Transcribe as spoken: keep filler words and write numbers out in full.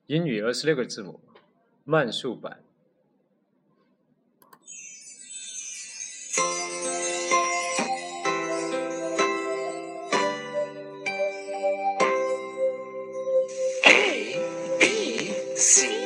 英语二十六个字母，慢速版。 A B C